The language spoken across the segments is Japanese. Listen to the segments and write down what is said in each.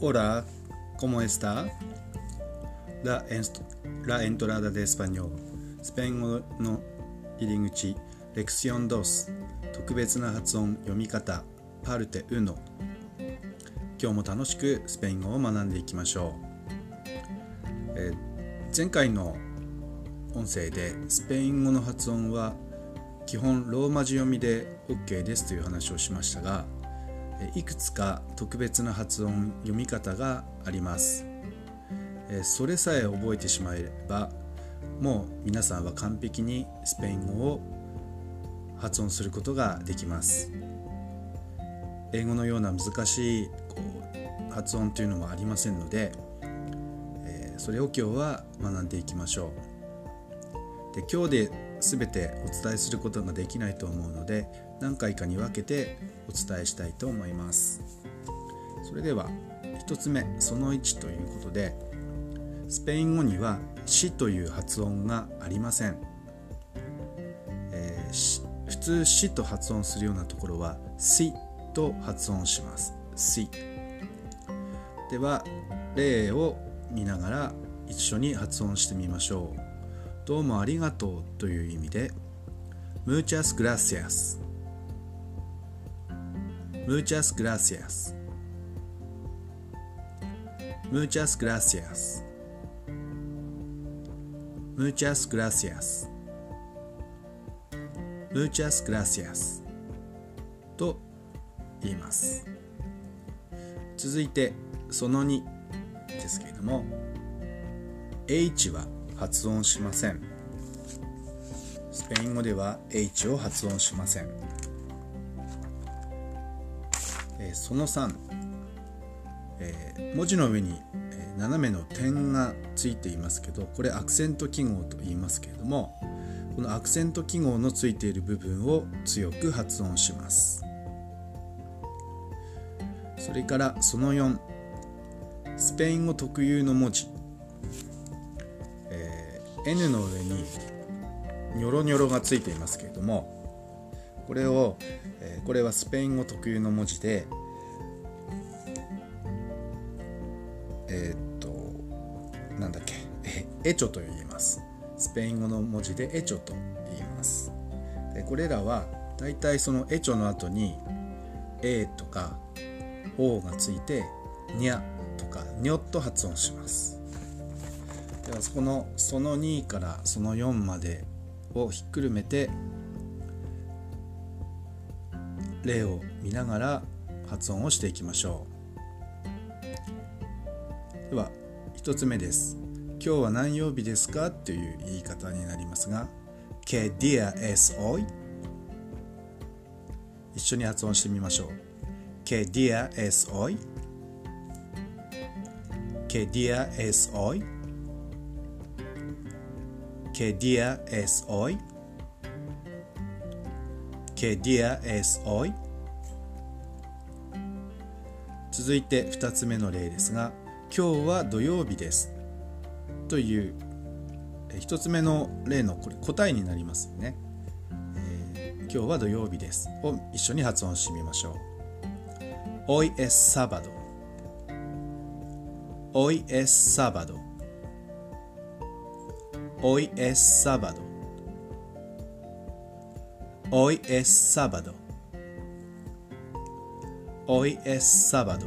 Hola, ¿cómo está? La entrada de español スペイン語の入り口レクシオン2特別な発音読み方パルテ1今日も楽しくスペイン語を学んでいきましょう、前回の音声でスペイン語の発音は基本ローマ字読みで OK ですという話をしましたが、いくつか特別な発音読み方があります。それさえ覚えてしまえばもう皆さんは完璧にスペイン語を発音することができます。英語のような難しい発音というのもありませんので、それを今日は学んでいきましょう。で、今日で全てお伝えすることができないと思うので何回かに分けてお伝えしたいと思います。それでは1つ目その1ということで、スペイン語にはしという発音がありません。普通しと発音するようなところはしと発音します。しでは例を見ながら一緒に発音してみましょう。どうもありがとうという意味で Muchas gracias Muchas gracias Muchas gracias Muchas gracias Muchas gracias と言います。続いてその2ですけれども H は発音しません。スペイン語では H を発音しません。その3、文字の上に斜めの点がついていますけど、これアクセント記号と言いますけれども、このアクセント記号のついている部分を強く発音します。それからその4、スペイン語特有の文字、N の上にニョロニョロがついていますけれども、これはスペイン語特有の文字でエチョと言います。スペイン語の文字でエチョと言います。でこれらはだいたいそのエチョの後に A とか O がついてニャとかニョと発音します。ではその2からその4までをひっくるめて例を見ながら発音をしていきましょう。では1つ目です。今日は何曜日ですかという言い方になりますが ¿Qué día es hoy? 一緒に発音してみましょう。 ¿Qué día es hoy? ¿Qué día es hoy? ¿Qué día es hoy? ¿Qué día es hoy? 続いて2つ目の例ですが、今日は土曜日ですという1つ目の例のこれ答えになりますよね。今日は土曜日ですを一緒に発音してみましょう。Hoy es sábado. Hoy es sábado. Hoy es sábado. Hoy es sábado. Hoy es sábado.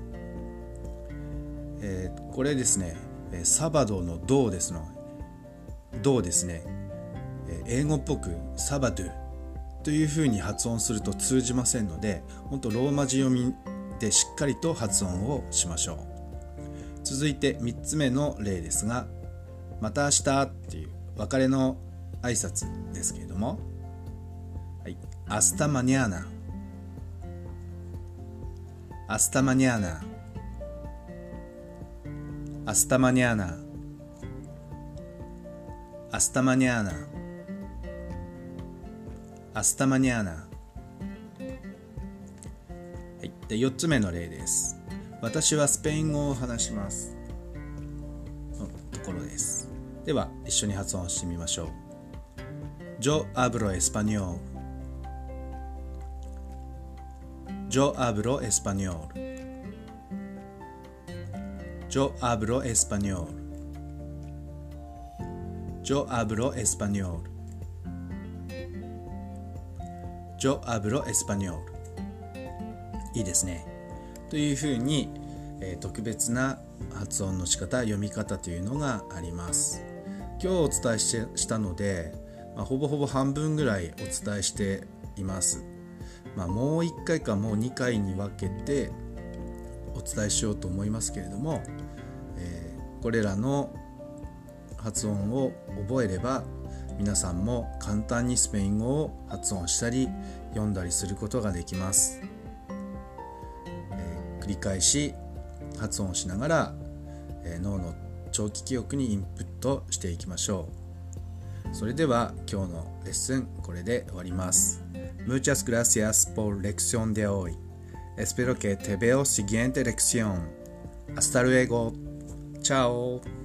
これですね、サバドのドですね、英語っぽくサバドゥというふうに発音すると通じませんので、本当ローマ字読みでしっかりと発音をしましょう。続いて3つ目の例ですが、また明日っていう別れの挨拶ですけれども、はい、hasta mañana hasta mañana hasta mañana hasta mañana hasta mañana。 はい、で4つ目の例です。私はスペイン語を話しますのところです。では一緒に発音してみましょう。 Yo hablo español Yo hablo español Yo hablo español. Yo hablo español. Yo hablo español。いいですね。というふうに、特別な発音の仕方、読み方というのがあります。今日お伝えしたので、ほぼほぼ半分ぐらいお伝えしています。もう1回かもう2回に分けてお伝えしようと思いますけれども、これらの発音を覚えれば皆さんも簡単にスペイン語を発音したり読んだりすることができます。繰り返し発音しながら、脳の長期記憶にインプットしていきましょう。それでは今日のレッスンこれで終わります。Muchas gracias por lección de hoy. Espero que te veo siguiente lección. Hasta luego. Chao.